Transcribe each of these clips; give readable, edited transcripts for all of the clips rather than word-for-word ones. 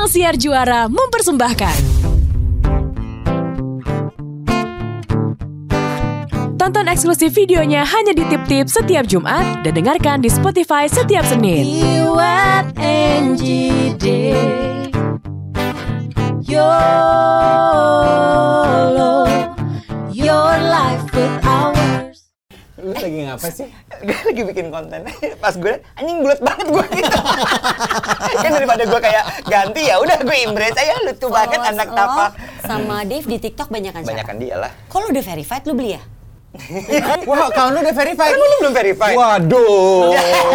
Indosiar Juara mempersembahkan. Tonton eksklusif videonya hanya di Tip Tip setiap Jumat dan dengarkan di Spotify setiap Senin. UNGD YOLO Your life with ours. Lu lagi ngapa sih? Dia lagi bikin konten. Pas gue anjing bulat banget gue gitu. Kan daripada gue kayak ganti ya udah gue embrace aja, lucu banget anak tapak. Sama Dave di TikTok banyakan siapa? Banyakan dia lah. Kalau udah verified lu beli ya? Wah, account lu udah verified. Kan lu belum verified. Waduh.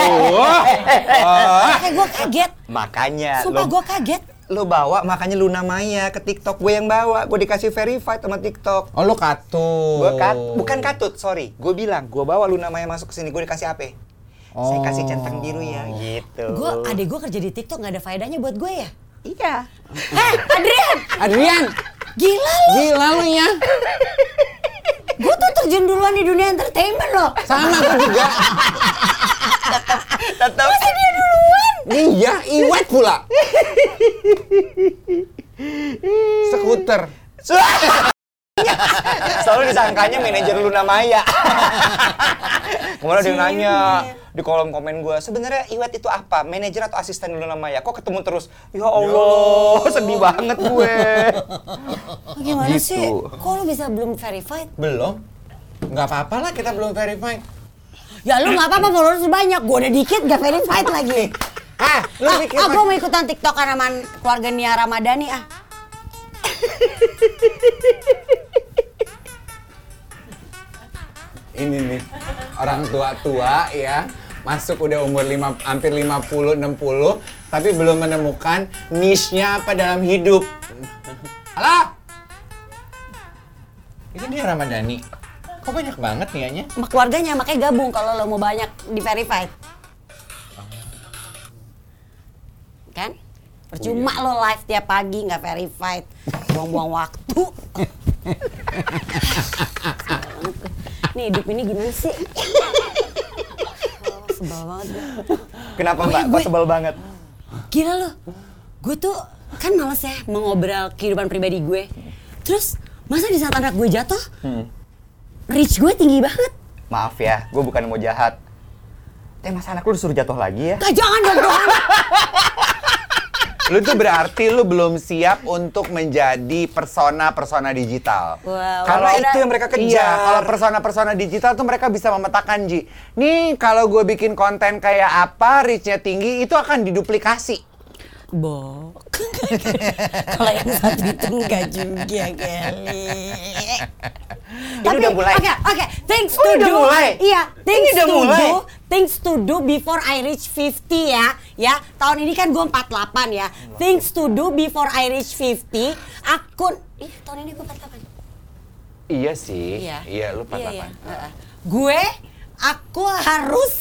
Kayak gue kaget. Makanya Sumpah gue kaget. lu bawa, makanya Luna Maya ke TikTok, gue yang bawa, gue dikasih verified sama TikTok. Oh, lu katut. Bukan katut, sorry. Gue bilang, gue bawa Luna Maya masuk ke sini, gue dikasih apa? Saya kasih centang biru ya, gitu. Adek gue kerja di TikTok nggak ada faedahnya buat gue ya? Iya. Heh, Adrian! Gila lu! Gila lu ya. Gue tuh terjun duluan di dunia entertainment loh. Sama gue juga. Tetap. Masa dia duluan? Iya, iwet pula. Skuter. Selalu disangkanya manajer Luna Maya. Kemarin ada yang nanya di kolom komen gue, sebenarnya Iwet itu apa? Manajer atau asisten Luna Maya? Kok ketemu terus? Ya Allah, sedih banget gue. Gimana Gitu. sih? Kok lu bisa belum verified? Belum. Nggak apa-apa lah, kita belum verified. Ya lu nggak apa-apa, followers banyak. Gue udah dikit gak verified lagi. Lu pikir Gue mau ikutan TikTokan sama keluarga Nia Ramadhani ah. ini nih, orang tua-tua ya, masuk udah umur hampir 50-60, tapi belum menemukan niche-nya apa dalam hidup. Halo? Ini dia Ramadhani. Kok banyak banget nianya? Sama keluarganya, makanya gabung kalau lo mau banyak di verified. Kan? Percuma lo live tiap pagi nggak verified. Buang-buang waktu. Nih hidup ini gimana sih? Oh, sebel banget gue. Kenapa Mbak? Kok sebel banget? Gila lo. Gue tuh kan males ya mengobrol kehidupan pribadi gue. Terus masa di saat anak gue jatuh, reach gue tinggi banget. Maaf ya, gue bukan mau jahat. Masa anak lu disuruh jatuh lagi ya? Jangan dong. Lu tuh berarti lu belum siap untuk menjadi persona digital. Wow. Karena itu yang mereka kejar. Iya, kalau persona digital tuh mereka bisa memetakan, Ji. Nih, kalau gue bikin konten kayak apa, reach-nya tinggi, itu akan diduplikasi. Kalau yang satu itu enggak juga, Kelly. Ini udah mulai. Oke. Things Oh, to udah do. mulai? Iya, Ini things to do before I reach 50 ya. Ya, tahun ini kan gue 48 ya. Things to do before I reach 50. Tahun ini gue 48. Iya sih. Iya, lu 48. Iya. Aku harus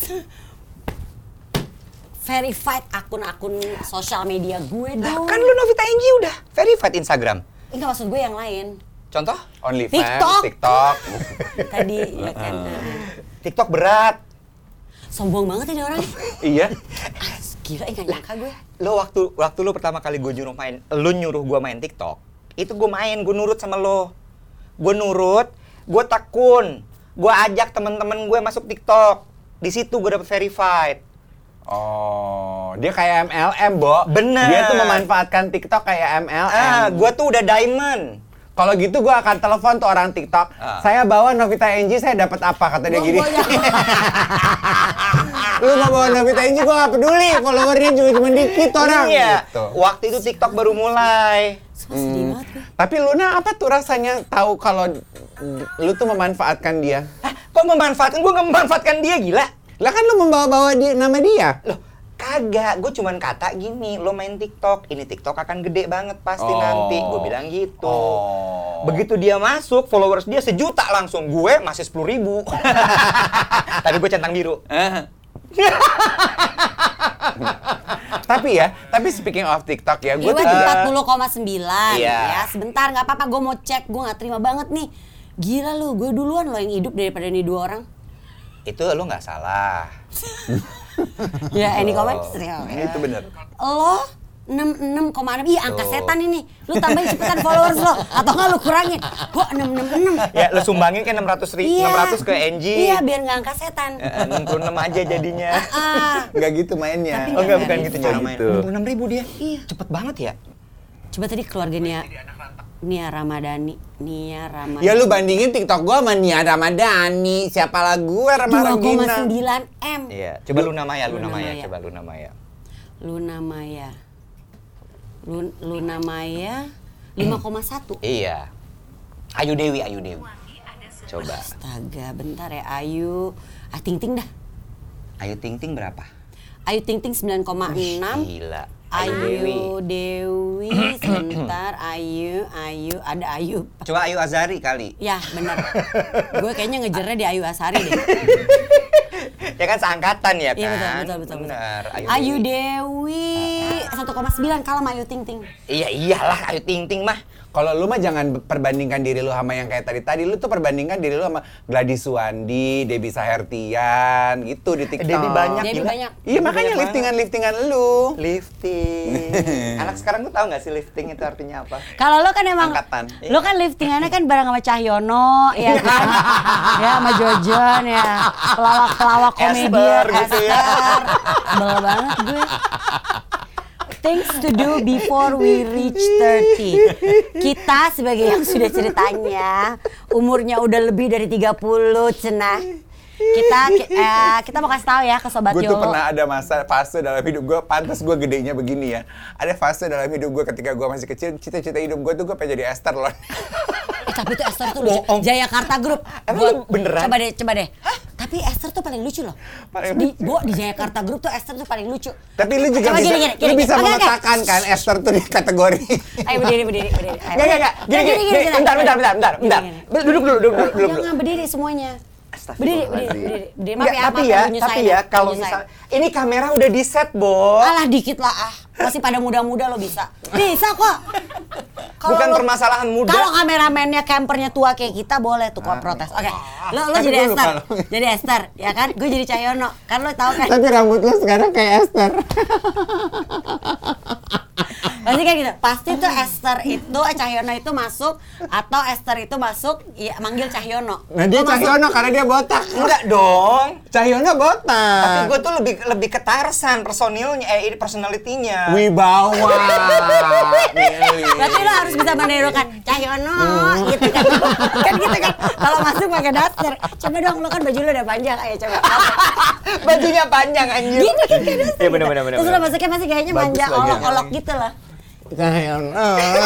verified akun-akun sosial media gue dong. Kan lu Novita Enji udah verified Instagram. Enggak, maksud gue yang lain. Contoh? OnlyFans, TikTok. TikTok. Tadi ya kan. TikTok berat. Sombong banget ini orang. Iya. Gila, nggak nyangka gue. Lo waktu lu pertama kali gue nyuruh gue main TikTok, itu gue nurut sama lo. Gue nurut, gue tekun, gue ajak temen-temen gue masuk TikTok. Di situ gue dapet verified. Oh, dia kayak MLM, Bo. Bener. Dia tuh memanfaatkan TikTok kayak MLM. Gue tuh udah diamond. Kalau gitu gue akan telepon tuh orang TikTok. Saya bawa Novita Enji, saya dapat apa? Kata dia gini. Lu mau bawa Novita Enji, gue gak peduli. Followernya juga cuma dikit orang. Iya. Gitu. Waktu itu TikTok baru mulai. Sedih banget gue. Tapi Luna apa tuh rasanya tahu kalau lu tuh memanfaatkan dia? Hah, kok memanfaatkan? Gue nggak memanfaatkan dia, gila. Lah kan lu membawa-bawa nama dia. Loh, kagak. Gue cuman kata gini, lo main TikTok, ini TikTok akan gede banget pasti nanti. Gue bilang gitu. Begitu dia masuk, followers dia 1 juta langsung. Gue masih 10.000. Tapi gue centang biru. Tapi speaking of TikTok ya, gue Iwet tuh 40,9 Iya. ya. Sebentar, nggak apa-apa. Gue mau cek. Gue nggak terima banget nih. Gila lu, gue duluan lo yang hidup daripada nih 2 orang. Itu lo nggak salah. Ya, any comment? Itu bener. Lo 66,6. Iya, angka setan ini. Lu tambahin cepetan followers lo atau enggak lu kurangin. Gua 666. Ya lu sumbangin kan 600 ke NG. Iya, biar enggak angka setan. 66 aja jadinya. Nggak gitu mainnya. Tapi Oh enggak, bukan gitu cara main. Gitu. 66.000 dia. Iya. Cepet banget ya. Coba tadi keluarga Nia Ramadhani. Ya lu bandingin TikTok gua sama Nia Ramadhani. Siapa lah gue Rama Regina. 2,9 M. Iya, coba Luna Maya, Luna Maya. coba Luna Maya. Luna Maya 5,1. Iya. Ayu Dewi. Coba. Astaga, bentar ya. Ayu Ting Ting dah. Ayu Ting Ting berapa? Ayu Ting Ting 9,6. Gila. Ayu Dewi sebentar. Ayu ada Ayu. Coba Ayu Azari kali. Ya, benar. Gue kayaknya ngejernya di Ayu Asari deh. Ya kan seangkatan ya kan? Iya, betul. Benar. Ayu Dewi 1,9 kalah sama Ayu Ting Ting. Iya iyalah Ayu Ting Ting mah. Kalau lu mah jangan perbandingkan diri lu sama yang kayak tadi. Lu tuh perbandingkan diri lu sama Gladys Suwandi, Debbie Sahertian, gitu di TikTok. Debbie banyak. Debbie gila. banyak. Iya makanya liftingan lu. Lifting. Anak sekarang tuh tahu nggak sih lifting itu artinya apa? Kalau lo kan emang, Angkatan. lo kan liftingannya kan bareng sama Cahyono, ya kan? Ya sama Jojon ya, pelawak komedian, Esther gitu ya. Sebel banget gue. Things to do before we reach 30. Kita sebagai yang sudah ceritanya umurnya udah lebih dari 30 cenah. Kita mau kasih tahu ya ke Sobat Gue Yo. tuh pernah ada fase dalam hidup gue, pantas gue gedenya begini ya. Ada fase dalam hidup gue ketika gue masih kecil, cita-cita hidup gue tuh gue pengen jadi Esther loh. Tapi itu Esther tuh lucu. Jayakarta Group. Emang lu beneran? Coba deh. Tapi Esther tuh paling lucu loh. Di Jayakarta Group tuh Esther tuh paling lucu. Tapi lu juga Coba bisa, gini. lu bisa Oke. memetakan kan Esther tuh di kategori. Ayo berdiri. Enggak. Gini. Bentar. Duduk dulu. Jangan berdiri semuanya. Berdiri. Maaf ya, tapi ya kalau misal ini kamera udah di set, Bo. Alah dikit lah masih pada muda-muda lo bisa kok. Bukan permasalahan muda. Kalau kameramennya campernya tua kayak kita boleh tuh kok protes. Oke. Lo Tapi jadi dulu Esther. kalau- Jadi Esther, ya kan? Gue jadi Cahyono. Kan lo tahu kan? Tapi rambut lu sekarang kayak Esther. Pasti kan gitu. Pasti tuh Esther itu Cahyono itu masuk atau Esther itu masuk ya manggil Cahyono. Nah dia Lo masuk- Cahyono karena dia botak. Enggak dong. Cahyono botak. Tapi gue tuh lebih ke Tarzan personilnya, ini personality-nya. Wibawa. Berarti lo harus bisa menirukan Cahyono gitu kan. Kan gitu kan. Kalau masuk pakai daster. Coba dong lo kan baju lo udah panjang. Ayo coba. Bajunya panjang anjir. Gini kan kayak daster. Iya benar. Terus lo masuknya masih kayaknya Bagus manja lagi. olok-olok gitu lah. Cahyono.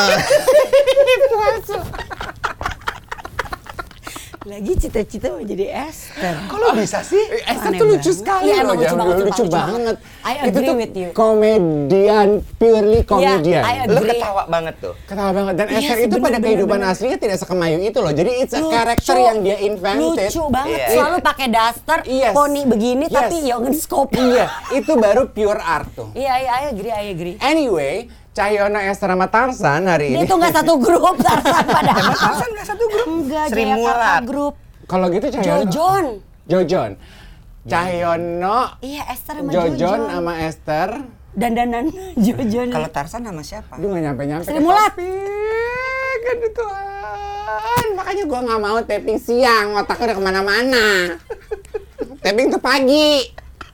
Lagi cita-cita mau jadi Esther. Kok lo bisa sih? Esther Aneh tuh lucu banget. sekali Iya, loh. emang lucu Jangan banget, dulu, lucu sumpah, banget. I Itu agree tuh with you. komedian, purely komedian. I Lo agree. ketawa banget tuh. Ketawa banget. Dan Iya Esther sih, itu pada bener, kehidupan bener. aslinya tidak sekemayu itu loh. Jadi it's a character Lucu. yang dia invented. Lucu banget. Iya. Selalu pakai daster, Yes. poni begini Yes. tapi ya nge-scope. Iya, itu baru pure art tuh. Iya, I agree. Anyway, Cahyono, Esther sama Tarzan hari Dia ini. tuh nggak satu grup Tarzan padahal. Tarzan nggak satu grup? Enggak, Sri Jayakarta Mulat. Group. Kalau gitu Cahyono. Jojon. Cahyono, Iya, Esther sama Jojon Jojon. sama Esther. Dandanan Jojon. Kalau Tarzan sama siapa? Aduh nggak nyampe-nyampe. Sri Mulat. Aduh Tuhan. Makanya gua nggak mau taping siang. Otaknya udah kemana-mana. Taping tuh pagi.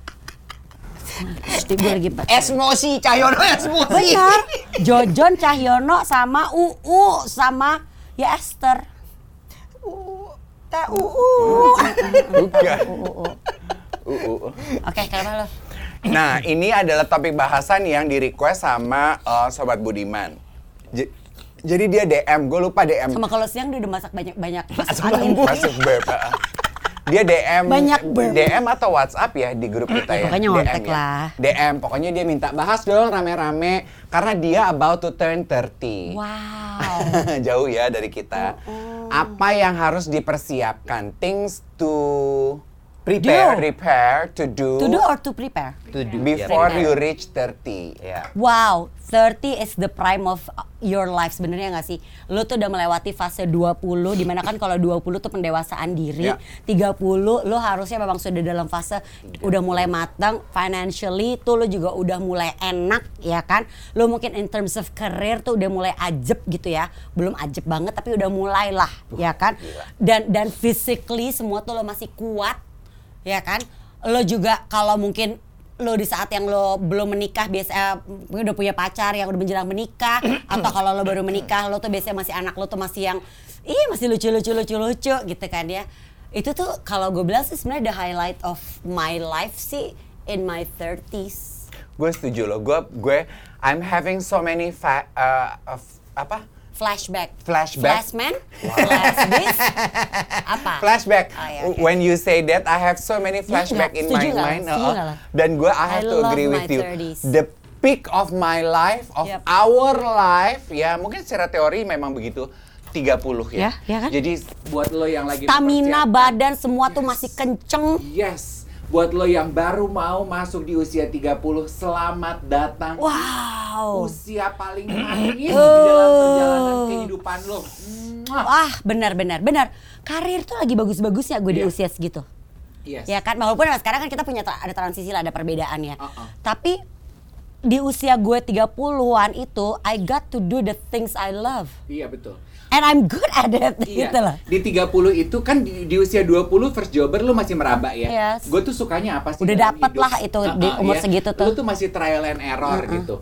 Pasti gue lagi Esmosi, Cahyono esmosi. benar. Jojon, Cahyono sama UU sama ya Esther. Tahu. Bukan. Oke, kenapa lo? Nah, ini adalah topik bahasan yang di-request sama Sobat Budiman. Jadi dia DM, gue lupa DM. Sama kalau siang dia udah masak banyak masuk angin. Masuk beb. Dia DM, Banyak beb. DM atau WhatsApp ya di grup kita ya. Pokoknya DM ngontek ya. lah. DM, pokoknya dia minta bahas dong rame-rame karena dia about to turn 30. Wow. Jauh ya dari kita. Apa yang harus dipersiapkan? Things to prepare to do. To do or to prepare? To do. Before Prepare. you reach 30. Ya. Wow, 30 is the prime of your life sebenarnya nggak sih? Lo tuh udah melewati fase 20, dimana kan kalau 20 tuh pendewasaan diri, 30 lo harusnya memang sudah dalam fase udah mulai matang, financially tuh lo juga udah mulai enak ya kan? Lo mungkin in terms of career tuh udah mulai ajeb gitu ya, belum ajeb banget tapi udah mulai lah ya kan? Dan physically semua tuh lo masih kuat ya kan? Lo juga kalau mungkin lo di saat yang lo belum menikah biasanya udah punya pacar yang udah menjelang menikah atau kalau lo baru menikah lo tuh biasanya masih anak lo tuh masih yang masih lucu gitu kan ya. Itu tuh kalau gue bilang sih sebenarnya the highlight of my life sih in my 30s. Gue setuju loh. Gue I'm having so many Flashback. Flashman? Flashback? Apa? Flashback. Oh, yeah, okay. When you say that, I have so many flashback in my mind. Dan gue I have to agree with you. 30s. The peak of my life, of our life, ya mungkin secara teori memang begitu. 30 ya. Ya kan? Jadi buat lo yang lagi stamina badan semua tuh masih kenceng. Yes. Buat lo yang baru mau masuk di usia 30, selamat datang. Wow. Usia paling manis di dalam perjalanan kehidupan lo. Wah, benar. Karir tuh lagi bagus-bagusnya gue di usia segitu. Yes. Ya kan, walaupun sekarang kan kita punya ada transisi lah, ada perbedaannya. Tapi di usia gue 30-an itu, I got to do the things I love. Iya, betul. And I'm good at it, gitu loh. Di 30 itu kan di usia 20 first jobber lu masih meraba ya. Yes. Gue tuh sukanya apa sih? Udah dapet lah itu di umur segitu tuh. Lu tuh masih trial and error gitu.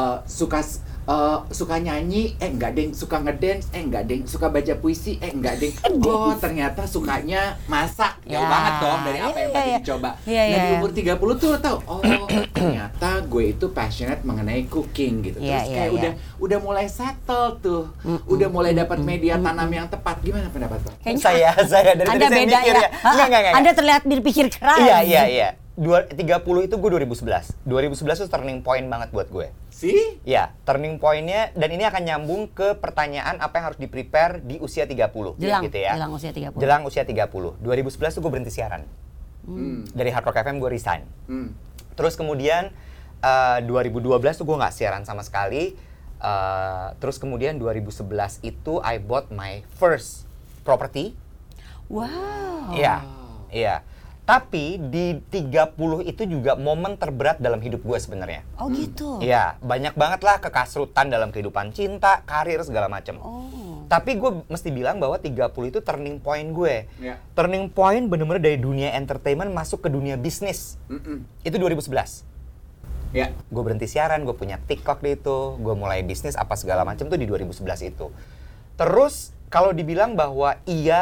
Suka nyanyi, enggak deng, suka ngedance, enggak deng, suka baca puisi, enggak deng. Oh, ternyata sukanya masak. Jauh banget dong dari apa yang tadi dicoba. Nah, di umur 30 tuh lo tau, ternyata gue itu passionate mengenai cooking gitu. Terus kayak udah mulai settle tuh. Udah mulai dapat media tanam yang tepat. Gimana pendapat Pak? Saya dari Anda tadi beda mikir ya. Enggak. Anda terlihat berpikir keras. Iya. 30 itu gue 2011. 2011 itu turning point banget buat gue. Sih? Ya, turning point-nya dan ini akan nyambung ke pertanyaan apa yang harus di-prepare di usia 30 gitu ya. Jelang usia 30. Jelang usia 30. 2011 tuh gue berhenti siaran. Dari Hard Rock FM gue resign. Terus kemudian 2012 tuh gue nggak siaran sama sekali. Terus kemudian 2011 itu I bought my first property. Wow. Iya. Tapi di 30 itu juga momen terberat dalam hidup gue sebenarnya. Oh gitu? Iya, banyak banget lah kekasrutan dalam kehidupan cinta, karir, segala macam. Tapi gue mesti bilang bahwa 30 itu turning point gue. Turning point bener-bener dari dunia entertainment masuk ke dunia bisnis. Itu 2011. Ya, gue berhenti siaran, gue punya TikTok di itu, gue mulai bisnis apa segala macam tuh di 2011 itu. Terus kalau dibilang bahwa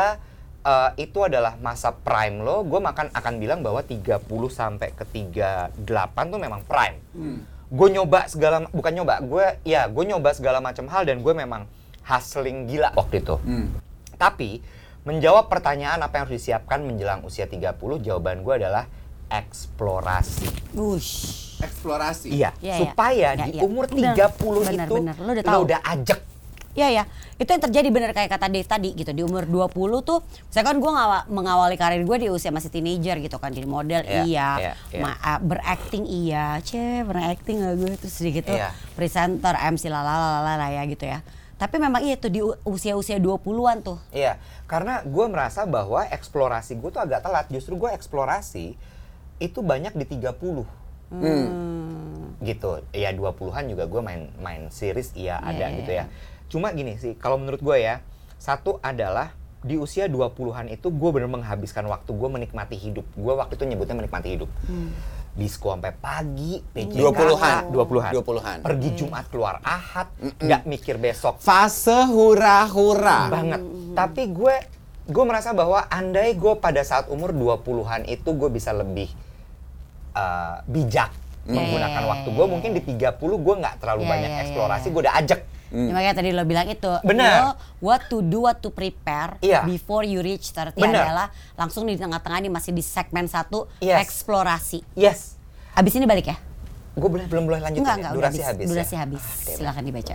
itu adalah masa prime lo, gue akan bilang bahwa 30 sampai ke 38 tuh memang prime. Gue nyoba gue nyoba segala macam hal dan gue memang hustling gila waktu itu. Tapi menjawab pertanyaan apa yang harus disiapkan menjelang usia 30, jawaban gue adalah eksplorasi. Eksplorasi. Iya, supaya di umur 30 itu lo udah ajak. Iya, itu yang terjadi bener kayak kata Dave tadi gitu. Di umur 20 tuh, misalkan gue mengawali karir gue di usia masih teenager gitu kan. Jadi model berakting pernah acting gak gue. Terus gitu, presenter, MC lalalala ya gitu ya. Tapi memang itu di usia-usia 20-an tuh. Iya, karena gue merasa bahwa eksplorasi gue tuh agak telat. Justru gue eksplorasi itu banyak di 30. Gitu, ya 20-an juga gue main series ada gitu ya. Cuma gini sih, kalau menurut gue ya, satu adalah di usia 20-an itu gue bener menghabiskan waktu gue menikmati hidup. Gue waktu itu nyebutnya menikmati hidup. Disko sampai pagi, PJK 20-an. Pergi Jumat keluar Ahad, nggak mikir besok. Fase hura-hura. Banget. Tapi gue merasa bahwa andai gue pada saat umur 20-an itu gue bisa lebih bijak menggunakan waktu gue. Mungkin di 30 gue nggak terlalu banyak eksplorasi, gue udah ajak. Makanya tadi lo bilang itu, benar. What to do, what to prepare before you reach 30 adalah langsung di tengah-tengah nih masih di segmen 1 eksplorasi. Yes. Abis ini balik ya? Gue belum boleh lanjutin. Enggak, durasi habis. Durasi habis. Silakan dibaca.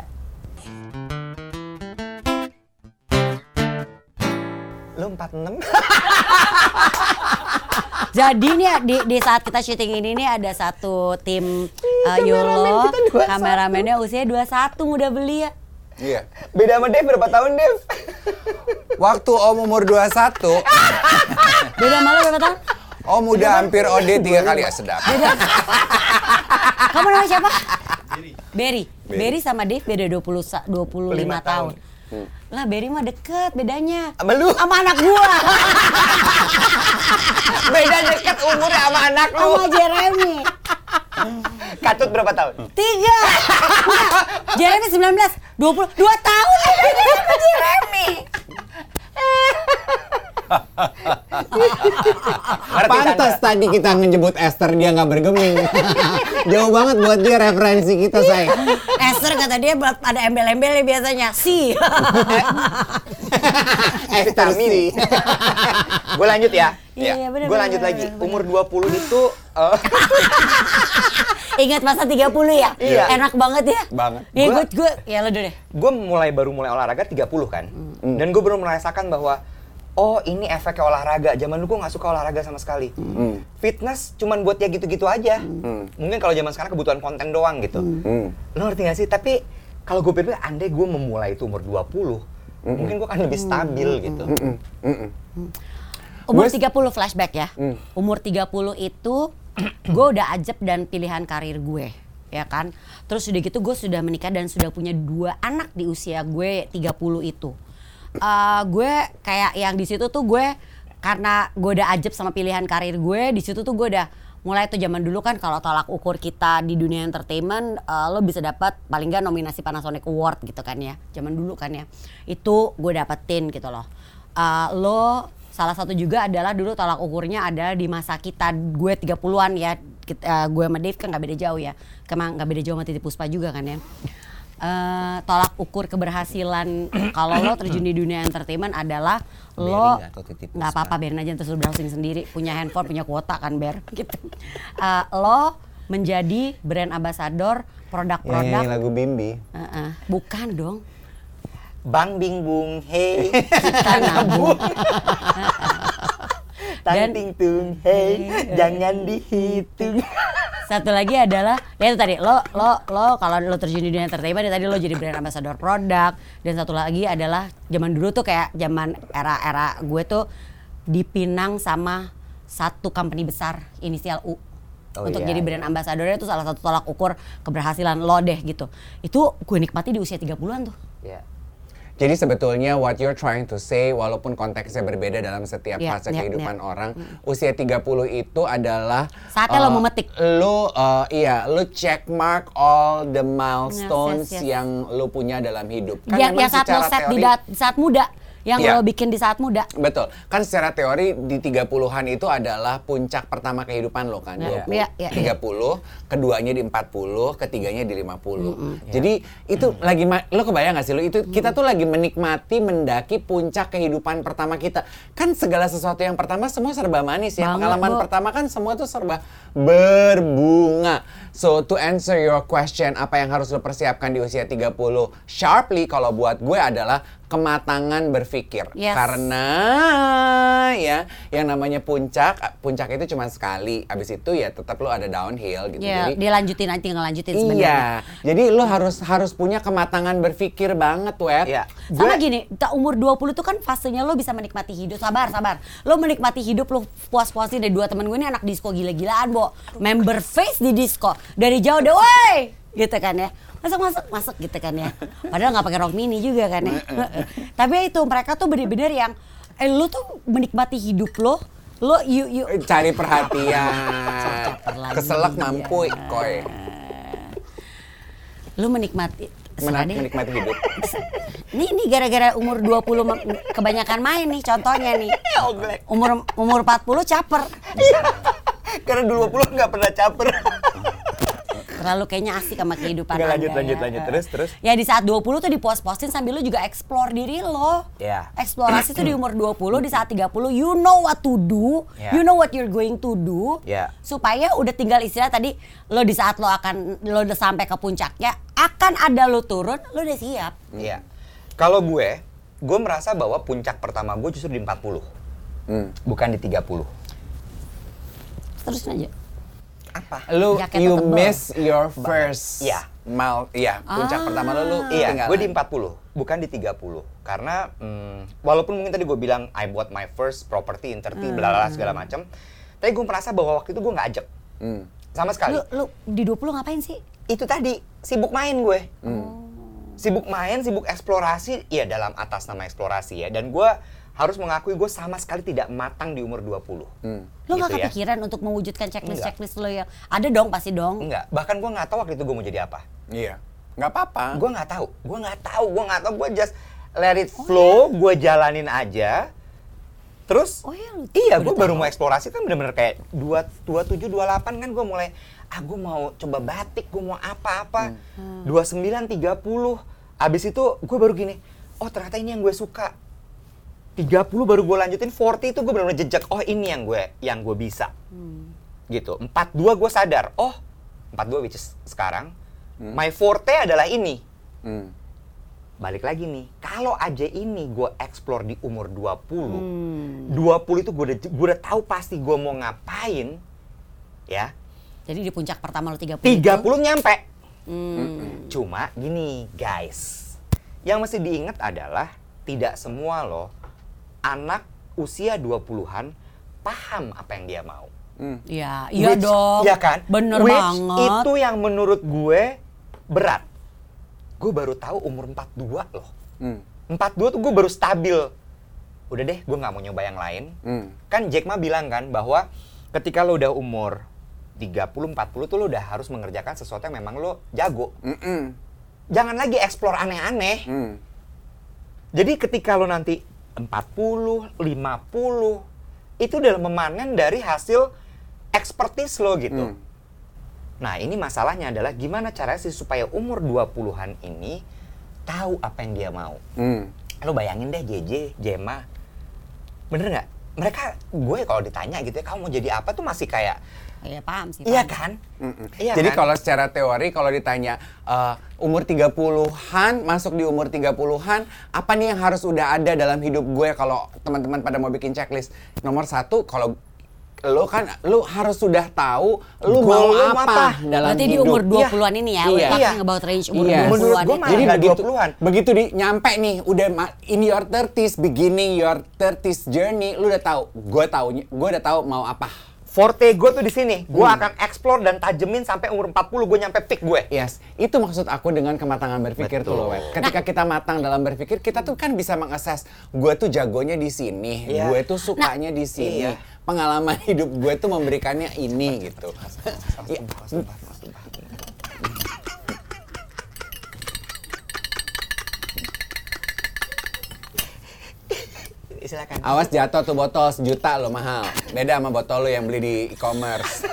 Lo 46? Jadi nih di saat kita syuting ini nih ada satu tim Yolo, kameramennya usia 21, muda belia. Iya. Beda sama Dev berapa tahun, Dev? Waktu Om umur 21. Beda sama lo berapa tahun? Om udah hampir OD 3 kali ya, sedap. Kamu namanya siapa? Berry. Berry sama Dev beda 25 tahun. Lah Berry mah deket bedanya. Sama lu? Sama anak gua. Beda deket umurnya sama anak lu. Sama Jeremy. Katut berapa tahun? 3. Jeremy 19, 22 tahun bedanya sama Jeremy. Pantas tadi kita ngejebut Esther, dia nggak bergeming. Jauh banget buat dia referensi kita, say. Esther kata dia ada embel-embelnya biasanya. Esther sih. Gue lanjut ya. Iya, bener, Gue lanjut bener, lagi. bener. Umur 20 itu Ingat masa 30 ya? Iya. Enak banget ya? Banget. Iya, gue ya lo dulu deh. gue baru mulai olahraga 30 kan. Dan gue baru merasakan bahwa oh ini efeknya olahraga. Zaman dulu gue nggak suka olahraga sama sekali. Fitness cuman buat ya gitu-gitu aja. Mungkin kalau zaman sekarang kebutuhan konten doang gitu. Lo ngerti gak sih? Tapi kalau gue pikir andai gue memulai itu umur 20, mungkin gue akan lebih stabil gitu. Umur 30 flashback ya. Umur 30 itu gue udah ajab dan pilihan karir gue, ya kan. Terus udah gitu gue sudah menikah dan sudah punya 2 anak di usia gue 30 itu. Gue kayak yang di situ tuh gue karena gue udah ajab sama pilihan karir gue, di situ tuh gue udah mulai tuh zaman dulu kan kalau tolak ukur kita di dunia entertainment lo bisa dapat paling nggak nominasi Panasonic Award gitu kan ya. Zaman dulu kan ya. Itu gue dapetin gitu loh. Lo salah satu juga adalah dulu tolak ukurnya adalah di masa kita, gue 30-an ya, gue sama Dave kan gak beda jauh ya, gak beda jauh sama Titi Puspa juga kan ya. Tolak ukur keberhasilan kalau lo terjun di dunia entertainment adalah lo nggak apa-apa, biarin aja terus lo browsing sendiri, punya handphone, punya kuota kan Ber gitu. Lo menjadi brand ambassador produk-produk. Ini lagu Bimbi. Bukan dong. Bang bing bung hey, Kita nabung. tang ting tung hey, jangan dihitung. Satu lagi adalah ya itu tadi lo kalau lo terjun di dunia entertainment tadi lo jadi brand ambassador produk, dan satu lagi adalah zaman dulu tuh kayak zaman era gue tuh dipinang sama satu company besar inisial U. Untuk jadi brand ambassadornya itu salah satu tolak ukur keberhasilan lo deh gitu. Itu gue nikmati di usia 30-an tuh. Yeah. Jadi sebetulnya what you're trying to say, walaupun konteksnya berbeda dalam setiap fase kehidupan orang, usia 30 itu adalah saatnya lo memetik. Lo check mark all the milestones yang lo punya dalam hidup. Kan yang saat lo set di saat muda. Yang lo bikin di saat muda. Betul. Kan secara teori di 30-an itu adalah puncak pertama kehidupan lo kan. 20, 30, keduanya di 40, ketiganya di 50. Jadi itu lagi, lo kebayang gak sih lo? Itu kita tuh lagi menikmati, mendaki puncak kehidupan pertama kita. Kan segala sesuatu yang pertama semua serba manis ya. Pengalaman pertama kan semua tuh serba berbunga. So to answer your question, apa yang harus lo persiapkan di usia 30 sharply kalau buat gue adalah kematangan berpikir. Karena ya yang namanya puncak itu cuma sekali, abis itu ya tetap lo ada downhill gitu. Jadi dilanjutin nanti ngelanjutin sebenarnya. Iya, jadi lo harus punya kematangan berpikir banget, Wet. Sama gini, umur 20 tuh kan fasenya lo bisa menikmati hidup. Sabar. Lo menikmati hidup, lo puas-puasin deh. 2 temen gue ini anak disco gila-gilaan, Bo. Member face di disco. Dari jauh deh, woi! Gitu kan ya. Masuk gitu kan ya. Padahal nggak pakai rok mini juga kan ya. Tapi itu mereka tuh bener-bener yang lo tuh menikmati hidup lo cari perhatian. Keselak mampu koy. Lo menikmati hidup. Ini gara-gara umur 20 kebanyakan main nih contohnya nih. Umur 40 caper. Karena dulu 20 nggak pernah caper. Terlalu kayaknya asik sama kehidupan. Lanjut. Terus. Ya di saat 20 tuh dipuas-puasin sambil lu juga explore diri lo. Eksplorasi tuh di umur 20, di saat 30 you know what to do. You know what you're going to do. Supaya udah tinggal istilah tadi lo di saat lo udah sampai ke puncaknya, akan ada lo turun, lo udah siap. Kalau gue merasa bahwa puncak pertama gue justru di 40. Bukan di 30. terusin aja. Apa? Lu Jaket you tebal. miss your first Iya. puncak pertama lu Iya, ketinggalan. gue di 40, bukan di 30. Karena walaupun mungkin tadi gue bilang I bought my first property in 30, bla segala macam. Tapi gue merasa bahwa waktu itu gue nggak ajak. Sama sekali. Lu di 20 ngapain sih? Itu tadi, sibuk main gue. Sibuk main, sibuk eksplorasi, ya dalam atas nama eksplorasi ya. Dan gue harus mengakui gue sama sekali tidak matang di umur 20. Lo nggak Gitu ya. kepikiran untuk mewujudkan checklist lo yang ada dong, pasti dong. Enggak, bahkan gue nggak tahu waktu itu gue mau jadi apa. Iya. Nggak apa-apa. Gue nggak tahu, gue just let it flow, gue jalanin aja. Terus, iya gue baru mau eksplorasi kan bener-bener kayak 27, 28 kan gue mulai, gue mau coba batik, gue mau apa-apa. 29, 30, abis itu gue baru gini, oh ternyata ini yang gue suka. 30 baru gue lanjutin, 40 itu gue bener-bener jejak, oh ini yang gue bisa. Gitu, 42 gue sadar, 42 which is sekarang, my forte adalah ini. Balik lagi nih, kalau aja ini gue explore di umur 20, 20 itu gue udah tahu pasti gue mau ngapain, ya. Jadi di puncak pertama lo 30 30 itu, nyampe. Cuma gini guys, yang mesti diingat adalah tidak semua loh anak usia 20-an paham apa yang dia mau. iya dong. Iya kan? Bener Which banget. itu yang menurut gue berat. Gue baru tahu umur 42 loh. 42 tuh gue baru stabil. Udah deh, gue nggak mau nyoba yang lain. Kan Jack Ma bilang kan bahwa ketika lo udah umur 30, 40 tuh lo udah harus mengerjakan sesuatu yang memang lo jago. Jangan lagi explore aneh-aneh. Jadi ketika lo nanti 40, 50, itu udah memanen dari hasil expertise lo gitu. Nah ini masalahnya adalah gimana caranya sih supaya umur 20-an ini tahu apa yang dia mau. Lo bayangin deh JJ, Jema, bener nggak? Mereka, gue kalau ditanya gitu ya, kamu mau jadi apa tuh masih kayak, Iya paham sih. iya paham. kan? Iya Jadi kan? kalau secara teori, kalau ditanya umur 30-an, masuk di umur 30-an, apa nih yang harus udah ada dalam hidup gue kalau teman-teman pada mau bikin checklist? Nomor 1, kalau lu harus sudah tahu lu mau apa dalam Berarti hidup. di umur 20-an ini ya, we're talking about range umur 20-an. Menurut gue itu. malah Jadi nggak begitu 20-an. begitu nyampe nih, udah in your 30s, beginning your 30s journey, lu udah tahu, gue udah tahu mau apa. Forte gue tuh di sini, gue akan explore dan tajemin sampai umur 40 gue nyampe peak gue. Yes, itu maksud aku dengan kematangan berpikir tuh loh, Wet. Ketika kita matang dalam berpikir, kita tuh kan bisa mengakses, gue tuh jagonya di sini, Iya. gue tuh sukanya di sini, Iya. pengalaman hidup gue tuh memberikannya ini gitu. Ya, Silakan. awas jatuh tuh botol sejuta lo mahal, beda sama botol lo yang beli di e-commerce.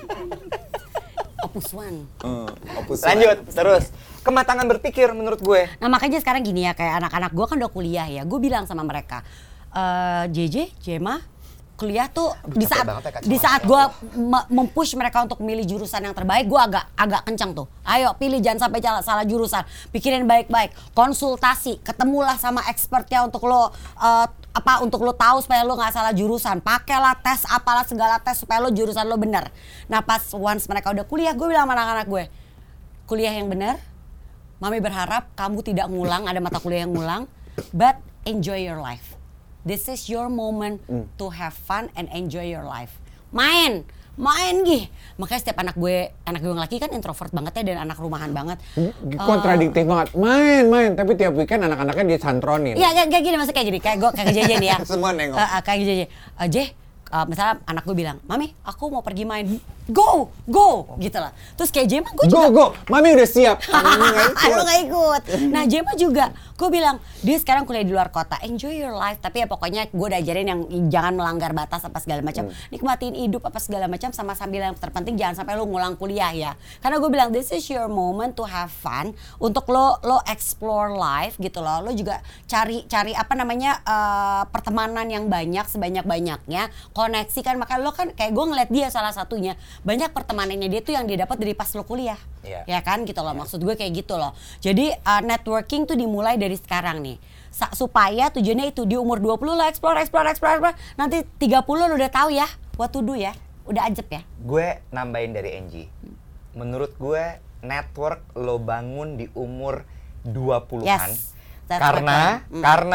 Opus One. Lanjut, terus. Kematangan berpikir menurut gue. Nah makanya sekarang gini ya, kayak anak-anak gue kan udah kuliah ya, gue bilang sama mereka, JJ, Jema, kuliah tuh di saat gue mempush mereka untuk milih jurusan yang terbaik, gue agak kencang tuh. Ayo pilih, jangan sampai salah jurusan, pikirin baik-baik, konsultasi, ketemulah sama expertnya untuk lo untuk lo tahu supaya lo nggak salah jurusan. Pakailah tes, apalah segala tes supaya lo jurusan lo benar. Nah pas once mereka udah kuliah, gue bilang sama anak-anak gue, kuliah yang benar. Mami berharap kamu tidak ngulang, ada mata kuliah yang ngulang, but enjoy your life. This is your moment to have fun and enjoy your life. Main gih. Makanya setiap anak gue yang laki kan introvert banget ya dan anak rumahan banget. Kontradiktif banget, main, tapi tiap weekend anak-anaknya disantronin. Iya kayak gini, maksudnya kayak gini, kayak JJ nih ya. Semua nengok. Kayak JJ. Misalnya anak gue bilang, Mami aku mau pergi main, go gitu lah. Terus kayak Jema gue juga Go, Mami udah siap. Lu gak ikut. Nah Jema juga, gue bilang dia sekarang kuliah di luar kota, enjoy your life. Tapi ya pokoknya gue udah ajarin yang jangan melanggar batas apa segala macam, nikmatin hidup apa segala macam, sama sambil yang terpenting jangan sampai lu ngulang kuliah ya. Karena gue bilang this is your moment to have fun, untuk lo explore life gitu loh. Lo juga cari apa namanya pertemanan yang banyak sebanyak-banyaknya, koneksi kan. Makanya lo kan kayak gue ngeliat dia salah satunya, banyak pertemanannya dia tuh yang dia dapat dari pas lo kuliah. Ya kan gitu loh, maksud gue kayak gitu loh. Jadi networking tuh dimulai dari sekarang nih, supaya tujuannya itu di umur 20 lo explore, nanti 30 lo udah tahu ya what to do ya. Udah ajeb ya? Gue nambahin dari Angie. Menurut gue network lo bangun di umur 20-an. Yes. Karena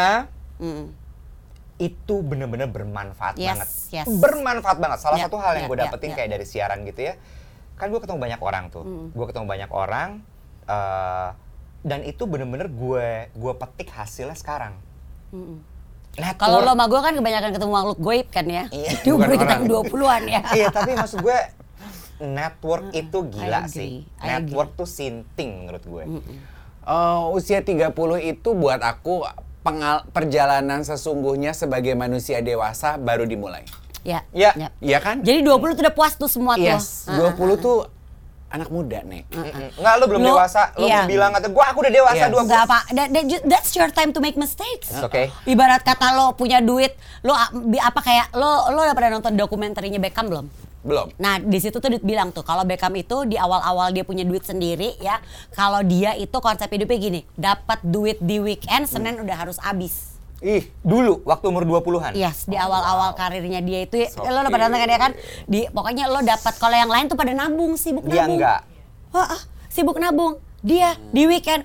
itu bener-bener bermanfaat banget. Yes. Bermanfaat banget. Salah satu hal yang gue dapetin kayak dari siaran gitu ya. Kan gue ketemu banyak orang tuh. Gue ketemu banyak orang dan itu bener-bener gue petik hasilnya sekarang. Kalau lo sama gue kan kebanyakan ketemu makhluk goib kan ya. Di umur kita 20-an ya. Iya, tapi maksud gue network itu gila sih. Network tuh sinting menurut gue. Usia 30 itu buat aku perjalanan sesungguhnya sebagai manusia dewasa baru dimulai. Iya kan? Jadi 20 tuh udah puas tuh semua tuh. Yes, 20 tuh anak muda, Nek. Enggak, lo belum dewasa. Lo bilang aku udah dewasa 20. Enggak apa, that's your time to make mistakes. Oke. Ibarat kata lo punya duit, lo apa kayak lo udah pernah nonton dokumenterinya Beckham belum? Belum. Nah, di situ tuh dibilang tuh kalau Beckham itu di awal-awal dia punya duit sendiri ya, kalau dia itu konsep hidupnya gini, dapat duit di weekend, Senin udah harus habis. Dulu waktu umur 20-an. Yes, di awal-awal karirnya dia itu lo udah pernah nonton kan ya kan? Pokoknya lo dapat, kalau yang lain tuh pada nabung, sibuk nabung. Dia enggak. Sibuk nabung. Dia di weekend,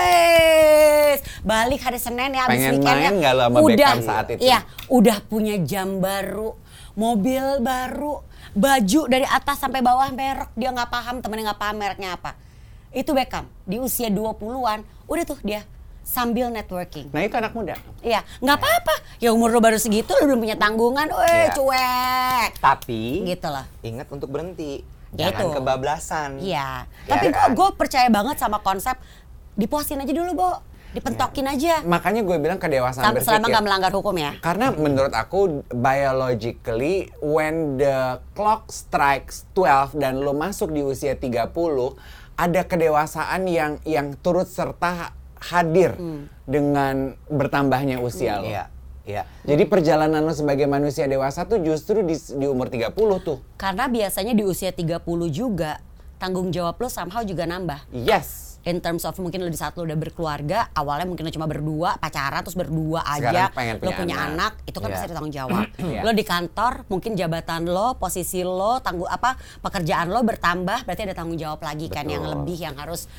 wes balik hari Senin ya, habis pengen weekendnya main nggak lo sama Beckham saat itu? Iya, udah punya jam baru, mobil baru, baju dari atas sampai bawah merek, dia nggak paham, temennya nggak paham mereknya apa. Itu Beckham di usia 20-an, udah tuh dia sambil networking. Nah itu anak muda. Iya, nggak apa-apa. Ya umur lo baru segitu, lo belum punya tanggungan, cuek. Tapi, gitu lah. Ingat untuk berhenti. Ya Jangan itu. kebablasan. Iya. Ya Tapi kan? gue percaya banget sama konsep dipuasin aja dulu, Bo. Dipentokin aja. Makanya gue bilang kedewasaan berpikir. Selama nggak melanggar hukum ya. Karena menurut aku biologically when the clock strikes 12 dan lo masuk di usia 30, ada kedewasaan yang turut serta hadir dengan bertambahnya usia lo. Iya. Jadi perjalanan lo sebagai manusia dewasa tuh justru di umur 30 tuh. Karena biasanya di usia 30 juga tanggung jawab lo somehow juga nambah. Yes. In terms of mungkin lo di saat lo udah berkeluarga, awalnya mungkin lo cuma berdua, pacaran terus berdua Sekarang aja. pengen Lo punya punya anak, itu kan pasti ada tanggung jawab. Yeah. Lo di kantor, mungkin jabatan lo, posisi lo, pekerjaan lo bertambah, berarti ada tanggung jawab lagi kan yang lebih yang harus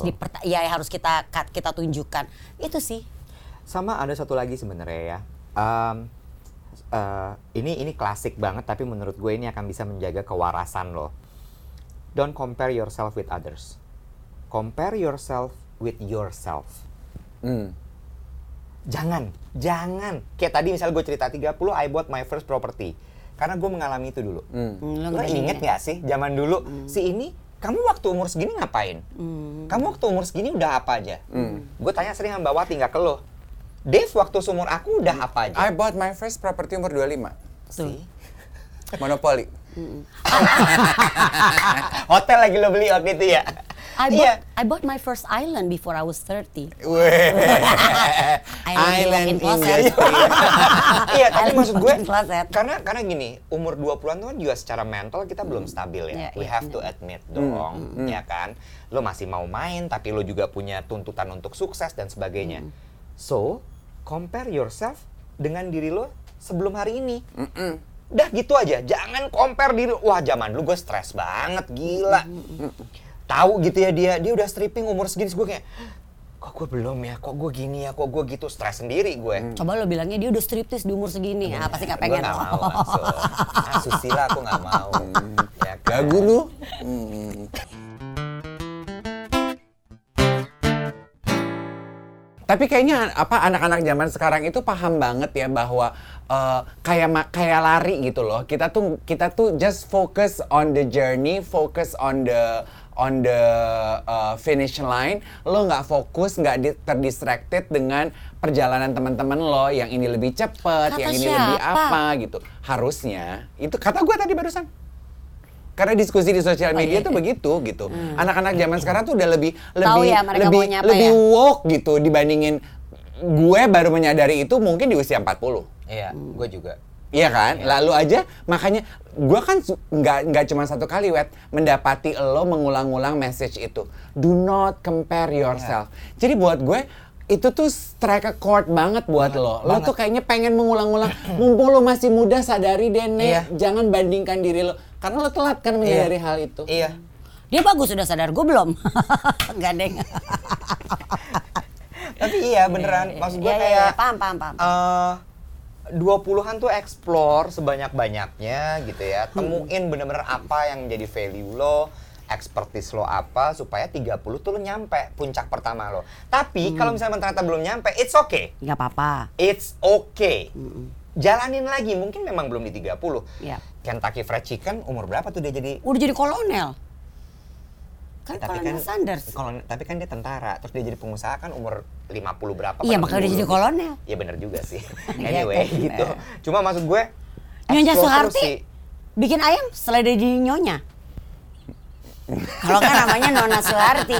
kita tunjukkan. Itu sih. Sama ada satu lagi sebenarnya ya. Ini klasik banget, tapi menurut gue ini akan bisa menjaga kewarasan lo. Don't compare yourself with others. Compare yourself with yourself. Jangan. Kayak tadi misalnya gue cerita 30, I bought my first property. Karena gue mengalami itu dulu. Lo inget gak sih zaman dulu si ini, kamu waktu umur segini ngapain? Kamu waktu umur segini udah apa aja? Gue tanya sering sama Mbak Wati, gak ke lo. Dave waktu seumur aku udah apa aja? I bought my first property umur 25. Sih. Monopoli. Hotel lagi lo beli waktu itu ya? I bought my first island before I was 30. Island in closet. Iya, tapi maksud gue in closet. karena gini, umur 20-an tuh kan juga secara mental kita belum stabil ya. We have to admit dong, ya kan? Lo masih mau main tapi lo juga punya tuntutan untuk sukses dan sebagainya. So, compare yourself dengan diri lo sebelum hari ini. Udah gitu aja, jangan compare diri. Wah, zaman dulu gue stres banget, gila. Tahu gitu ya dia udah stripping umur segini, gue kayak kok gue belum ya, kok gue gini ya, kok gue gitu, stres sendiri gue. Coba lo bilangnya dia udah striptis di umur segini, pasti gak pengen. Gue gak mau langsung. Susila aku gak mau. Ya kan? Gagu lu. Tapi kayaknya anak-anak zaman sekarang itu paham banget ya bahwa kayak lari gitu loh. Kita tuh just focus on the journey, focus on the finish line. Lo nggak fokus, nggak terdistracted dengan perjalanan teman-teman lo yang ini lebih cepet, yang ini lebih apa gitu. Harusnya itu kata gue tadi barusan. Karena diskusi di sosial media tuh begitu gitu. Anak-anak zaman sekarang tuh udah lebih woke gitu dibandingin gue baru menyadari itu mungkin di usia 40. Iya, gue juga. Iya kan? Iya. Lalu aja makanya gue kan nggak cuma satu kali mendapati lo mengulang-ulang message itu. Do not compare yourself. Jadi buat gue itu tuh strike a chord banget buat lo. Lo banget. tuh kayaknya pengen mengulang-ulang. Mumpung lo masih muda, sadari deh, Nek. Jangan bandingkan diri lo. Karena lo telat kan menyadari hal itu. Iya. Dia bagus udah sadar, gue belum. Gandeng. Tapi iya beneran. Maksud gue kayak paham. 20-an tuh explore sebanyak-banyaknya gitu ya. Temuin bener-bener apa yang jadi value lo, expertise lo apa, supaya 30 tuh lo nyampe puncak pertama lo. Tapi kalau misalnya ternyata belum nyampe, it's okay. Nggak apa-apa. It's okay. Jalanin lagi, mungkin memang belum di 30. Iya. Kentucky Fried Chicken umur berapa tuh dia jadi? Udah jadi kolonel. Kan Tapi Kolonel Sanders. Tapi kan dia tentara, terus dia jadi pengusaha kan umur 50 berapa. Iya, pada makanya dia dulu. jadi kolonel. Iya bener juga sih. Iya, Anyway kan? gitu. Cuma maksud gue Nyonya explore terus Soeharti sih. bikin ayam setelah dia jadi nyonya. Kalau kan namanya Nona Soeharti.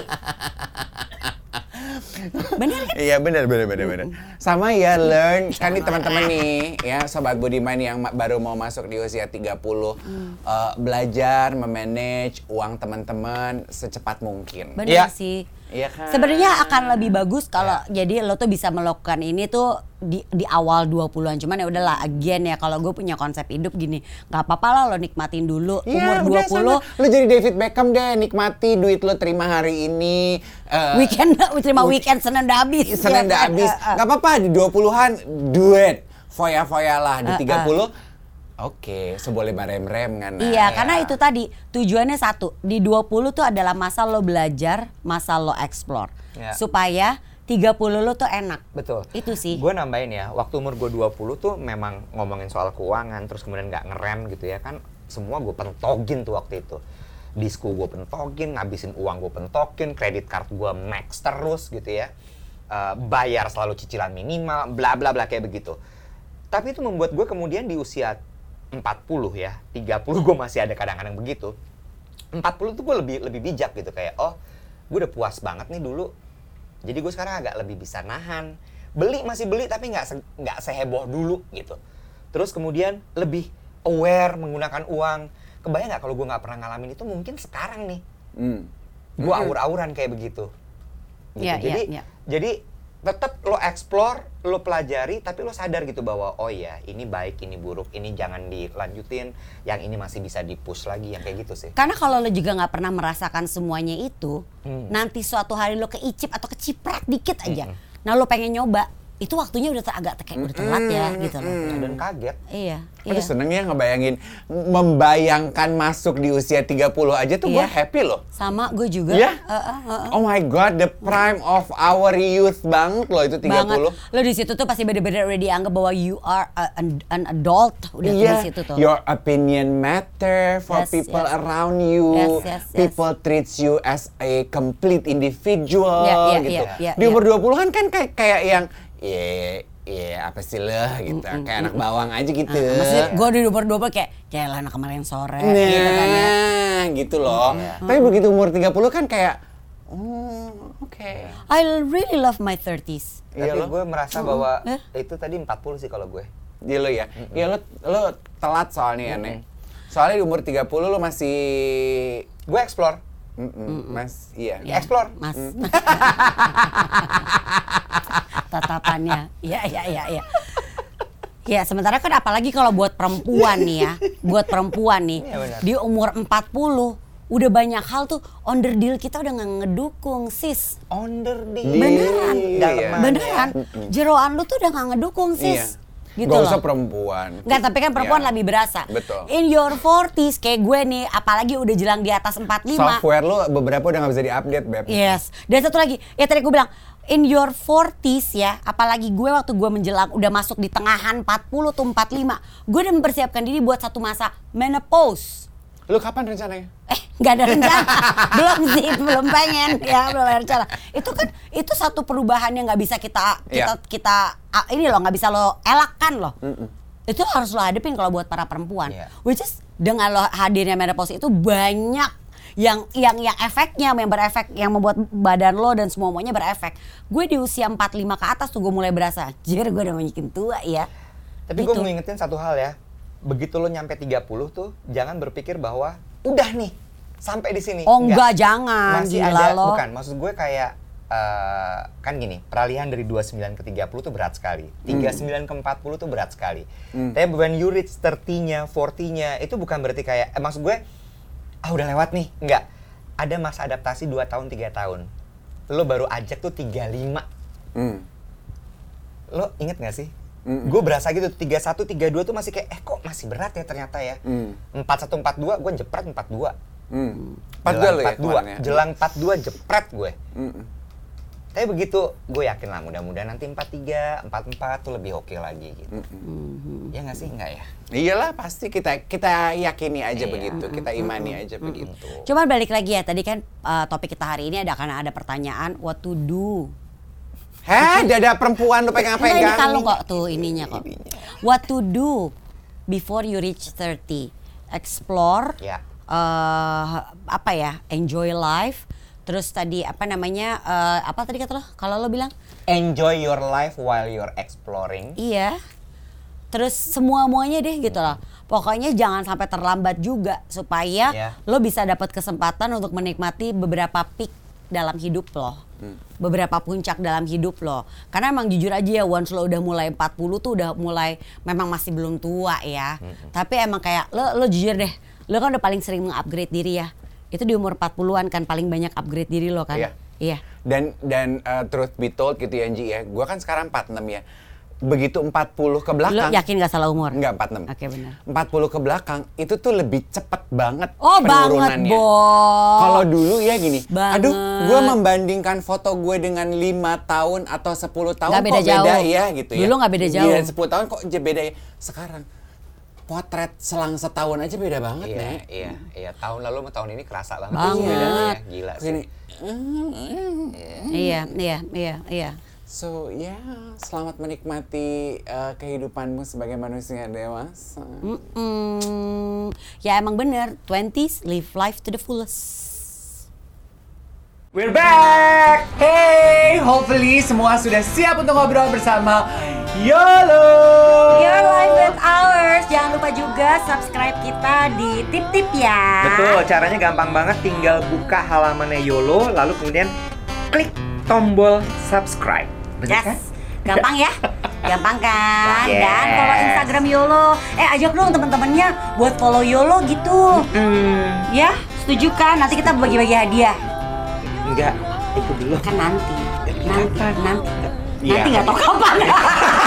Bener kan? Iya benar. Sama ya learn kan nih teman-teman nih ya sobat Budiman yang baru mau masuk di usia 30 belajar memanage uang teman-teman secepat mungkin. Bener Iya. sih. Iya kan? Sebenarnya akan lebih bagus kalau jadi lo tuh bisa melakukan ini tuh di awal 20-an. Cuman ya udahlah again ya kalau gue punya konsep hidup gini, nggak apa-apa lah lo nikmatin dulu Iya, umur udah 20. sama. Lo jadi David Beckham deh, nikmati duit lo terima hari ini. Weekend terima weekend Senin udah habis. Senin udah habis. Gak apa-apa di 20-an duit. Foya-foya lah di 30. Oke, seboleh barem-rem kan. Iya, karena itu tadi tujuannya satu. Di 20 tuh adalah masa lo belajar, masa lo explore. Iya. Supaya 30 lo tuh enak. Betul. Itu sih. Gue nambahin ya, waktu umur gue 20 tuh memang ngomongin soal keuangan, terus kemudian nggak ngerem gitu ya kan. Semua gue pentogin tuh waktu itu. Disco gue pentogin, ngabisin uang gue pentogin, kredit card gue max terus gitu ya. Bayar selalu cicilan minimal, bla bla bla kayak begitu. Tapi itu membuat gue kemudian di usia 40 ya, 30 gue masih ada kadang-kadang begitu. 40 tuh gue lebih bijak gitu kayak, oh gue udah puas banget nih dulu. Jadi gue sekarang agak lebih bisa nahan. Masih beli tapi nggak seheboh dulu gitu. Terus kemudian lebih aware menggunakan uang. Kebayang nggak kalau gue nggak pernah ngalamin itu mungkin sekarang nih. Gue aur-auran kayak begitu. Gitu. Iya, Jadi tetap lo explore, lo pelajari, tapi lo sadar gitu bahwa oh ya ini baik, ini buruk, ini jangan dilanjutin, yang ini masih bisa di-push lagi, yang kayak gitu sih. Karena kalau lo juga nggak pernah merasakan semuanya itu, nanti suatu hari lo keicip atau keciprat dikit aja. Nah lo pengen nyoba, itu waktunya udah agak udah telat ya gitu loh. Dan kaget. Iya. Aduh seneng ya membayangkan masuk di usia 30 aja tuh gue Iya. happy loh. Sama gue juga. Iya? Oh my god, the prime of our youth banget loh itu 30. Banget. Lo di situ tuh pasti bener-bener udah dianggap bahwa you are an adult udah tuh di situ tuh. Your opinion matter for Yes, people yes. around you. Yes. People treats you as a complete individual Iya, gitu. iya, Di iya. umur 20-an kan kayak yang Iya, apa sih lo gitu. Kayak anak bawang aja gitu. Maksudnya gue di umur 20 kayak lah anak kemarin sore Nah, gitu kan ya. gitu loh. Tapi begitu umur 30 kan kayak oke. I really love my 30s. Iya Tapi lo. gue merasa bahwa itu tadi 40 sih kalau gue. Iya lo ya. Iya lo telat soalnya ya, Nek. Soalnya di umur 30 lo masih Gue explore. Mas, iya. Ya, Explore. Mas. Tatapannya. Iya. Ya, sementara kan apalagi kalau buat perempuan nih ya. Buat perempuan nih. Iya, benar. Di umur 40 udah banyak hal tuh underdeal kita udah nggak ngedukung sis. Underdeal. Beneran. Daleman. Beneran. Jeroan lu tuh udah nggak ngedukung Iya. sis. Gitu Gak loh. usah perempuan. Enggak, tapi kan perempuan Iya. lebih berasa. Betul. In your 40s kayak gue nih, apalagi udah jelang di atas 45. Software lo beberapa udah gak bisa diupdate, Beb. Yes. Dan satu lagi, ya tadi gue bilang in your 40s ya, apalagi gue waktu gue menjelang udah masuk di tengahan 40 tuh 45, gue udah mempersiapkan diri buat satu masa menopause. Lu kapan rencananya? Nggak ada rencana. belum pengen ya, belum ada rencana. Itu kan itu satu perubahan yang nggak bisa kita ini loh, nggak bisa lo elakkan loh. Itu harus lo hadepin kalau buat para perempuan. Iya. Which is dengan lo hadirnya menopause itu banyak yang efeknya, yang berefek, yang membuat badan lo dan semuanya berefek. Gue di usia 45 ke atas tuh gue mulai berasa, gue udah makin tua ya. Tapi Gitu. gue mau ingetin satu hal ya. Begitu lo nyampe 30 tuh, jangan berpikir bahwa udah nih sampai di sini. Oh enggak, jangan. Masih Gila ada, lo. bukan. Maksud gue kayak kan gini, peralihan dari 29 ke 30 tuh berat sekali. 39 ke 40 tuh berat sekali. Tapi when you reach 30-nya, 40-nya, itu bukan berarti kayak, maksud gue, udah lewat nih. Enggak. Ada masa adaptasi 2 tahun, 3 tahun. Lo baru ajak tuh 35. Lo inget gak sih? Gue berasa gitu, 31, 32 tuh masih kayak, kok masih berat ya ternyata ya. 41, 42, gue jepret 42. 42 lo ya? Jelang 42 jepret gue. Tapi begitu, gue yakin lah mudah-mudahan nanti 43, 44 tuh lebih oke lagi gitu. Ya nggak sih? Nggak ya? Iyalah pasti kita yakini aja begitu, kita imani aja begitu. Coba balik lagi ya, tadi kan topik kita hari ini karena ada pertanyaan what to do. Dada perempuan lu pegang-pegang. Ini kalung kok tuh ininya kok. What to do before you reach 30? Explore, enjoy life. Terus tadi apa tadi kata lo? Kalau lo bilang? Enjoy your life while you're exploring. Iya. Terus semuanya deh gitu loh. Pokoknya jangan sampai terlambat juga supaya lo bisa dapat kesempatan untuk menikmati beberapa peak dalam hidup lo. Beberapa puncak dalam hidup lo. Karena emang jujur aja ya, once lo udah mulai 40 tuh udah mulai memang masih belum tua ya. Tapi emang kayak lo jujur deh, lo kan udah paling sering meng-upgrade diri ya. Itu di umur 40-an kan paling banyak upgrade diri lo kan. Iya. Dan truth be told gitu ya Nji ya. Gua kan sekarang 46 ya. Begitu 40 ke belakang. Lo yakin gak salah umur? Enggak, 46. Oke, benar. 40 ke belakang itu tuh lebih cepet banget banget, penurunannya. Bo. Kalau dulu ya gini. Banget. Aduh, gua membandingkan foto gue dengan 5 tahun atau 10 tahun gak beda kok jauh. Beda ya gitu ya. Dulu gak beda jauh. 10 tahun kok beda ya. Sekarang potret selang setahun aja beda banget, Nek. Iya. Tahun lalu sama tahun ini kerasa banget. Banget. Gila sih. Gini. Iya. So selamat menikmati kehidupanmu sebagai manusia dewasa. Ya emang bener, 20s live life to the fullest. We're back! Hey, hopefully semua sudah siap untuk ngobrol bersama YOLO! Your life with ours. Jangan lupa juga subscribe kita di Tip-Tip ya. Betul, caranya gampang banget. Tinggal buka halamannya YOLO, lalu kemudian klik tombol subscribe. Bener kan? Gampang ya? Gampang kan? Yes. Dan follow Instagram YOLO. Ajak dong teman-temannya buat follow YOLO gitu. Ya, setuju kan? Nanti kita bagi-bagi hadiah. Enggak, itu belum. Kan nanti Iya. nggak tahu kapan.